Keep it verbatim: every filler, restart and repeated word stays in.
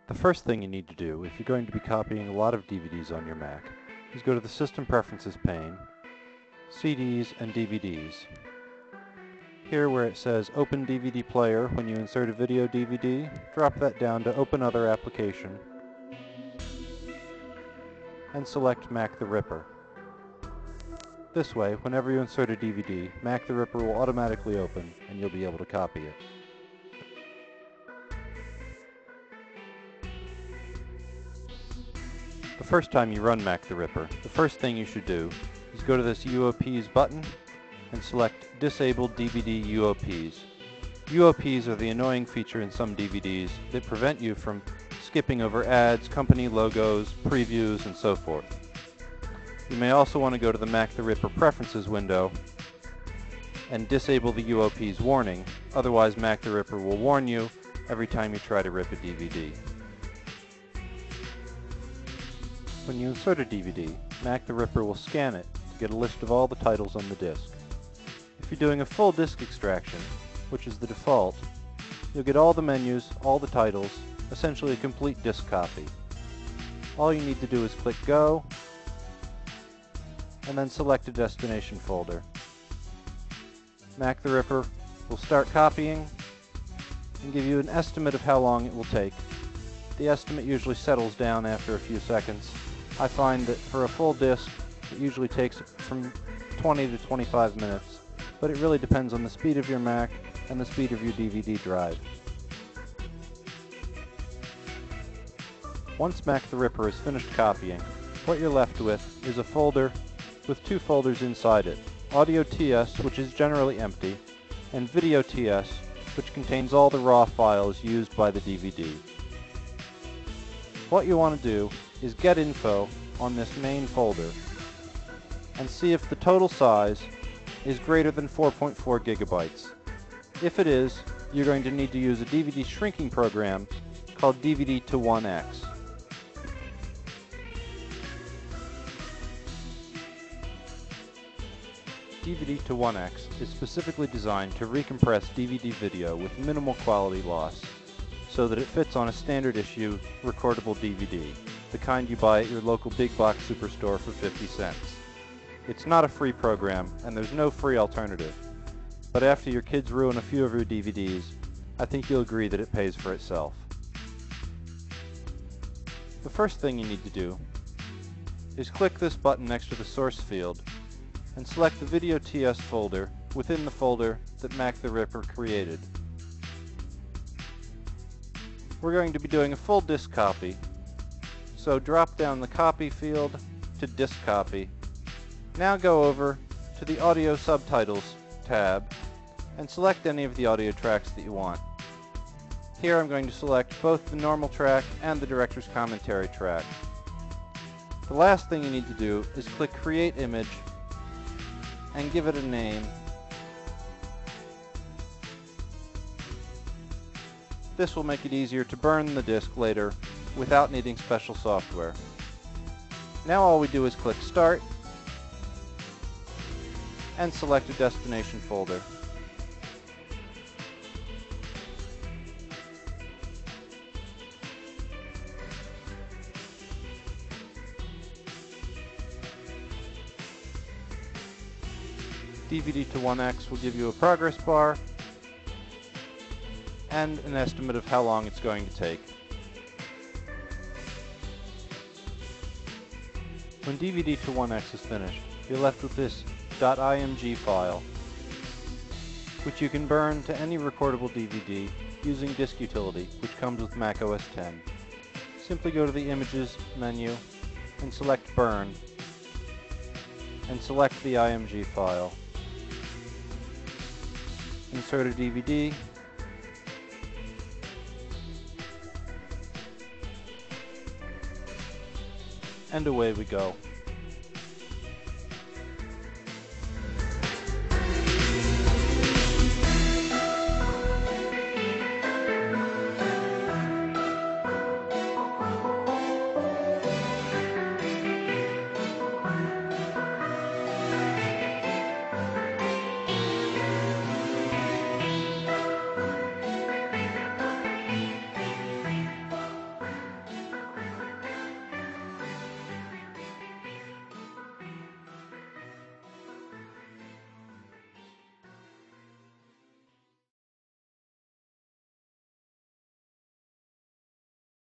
The first thing you need to do if you're going to be copying a lot of D V Ds on your Mac is go to the System Preferences pane, C Ds and D V Ds. Here where it says Open D V D Player when you insert a video D V D, drop that down to Open Other Application and select Mac the Ripper. This way, whenever you insert a D V D, Mac the Ripper will automatically open and you'll be able to copy it. The first time you run Mac the Ripper, the first thing you should do is go to this U O Ps button and select Disable D V D U O Ps. U O Ps are the annoying feature in some D V Ds that prevent you from skipping over ads, company logos, previews, and so forth. You may also want to go to the Mac the Ripper Preferences window and disable the U O Ps warning, otherwise Mac the Ripper will warn you every time you try to rip a D V D. When you insert a D V D, Mac the Ripper will scan it to get a list of all the titles on the disc. If you're doing a full disk extraction, which is the default, you'll get all the menus, all the titles, essentially a complete disk copy. All you need to do is click Go, and then select a destination folder. Mac the Ripper will start copying and give you an estimate of how long it will take. The estimate usually settles down after a few seconds. I find that for a full disk, it usually takes from twenty to twenty-five minutes, but it really depends on the speed of your Mac and the speed of your D V D drive. Once Mac the Ripper is finished copying, what you're left with is a folder with two folders inside it, Audio T S, which is generally empty, and Video T S, which contains all the raw files used by the D V D. What you want to do is get info on this main folder and see if the total size is greater than four point four gigabytes. If it is, you're going to need to use a D V D shrinking program called D V D to one X. D V D to one X is specifically designed to recompress D V D video with minimal quality loss, so that it fits on a standard issue recordable D V D, the kind you buy at your local big box superstore for fifty cents. It's not a free program, and there's no free alternative, but after your kids ruin a few of your D V Ds, I think you'll agree that it pays for itself. The first thing you need to do is click this button next to the source field and select the Video T S folder within the folder that Mac the Ripper created. We're going to be doing a full disk copy, so drop down the Copy field to Disk Copy. Now go over to the Audio Subtitles tab and select any of the audio tracks that you want. Here I'm going to select both the normal track and the director's commentary track. The last thing you need to do is click Create Image and give it a name. This will make it easier to burn the disk later without needing special software. Now all we do is click Start and select a destination folder. D V D to one X will give you a progress bar and an estimate of how long it's going to take. When D V D to one X is finished, you're left with this .img file, which you can burn to any recordable D V D using Disk Utility, which comes with Mac O S ten. Simply go to the Images menu and select Burn, and select the img file. Insert a D V D, and away we go.